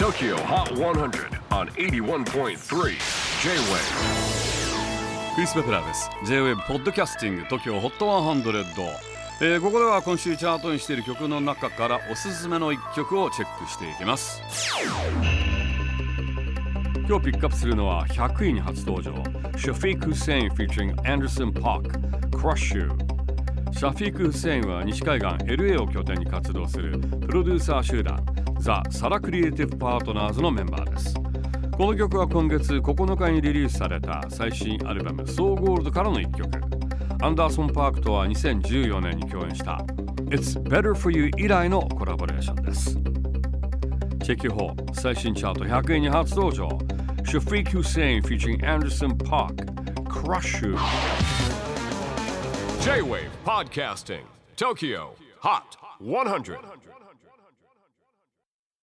TOKYO HOT 100 on 81.3 J-WAVE クリス・ベプラーです。 J-WAVE ポッドキャスティング TOKYO HOT 100、ここでは今週チャートにしている曲の中からおすすめの1曲をチェックしていきます。今日ピックアップするのは100位に初登場 Shafiq Hussain featuring Anderson .Paak Crush You。 シャフィーク・フセインは西海岸 LA を拠点に活動するプロデューサー集団ザ・サラクリエイティブ・パートナーズのメンバーです。この曲は今月9日にリリースされた最新アルバム So Gold からの1曲。アンダーソン・パークとは2014年に共演した It's Better For You 以来のコラボレーションです。チェキホー最新チャート100位に初登場 Shafiq Hussain featuring Anderson .Paak Crush You。 J-WAVE PODCASTING TOKYO HOT 100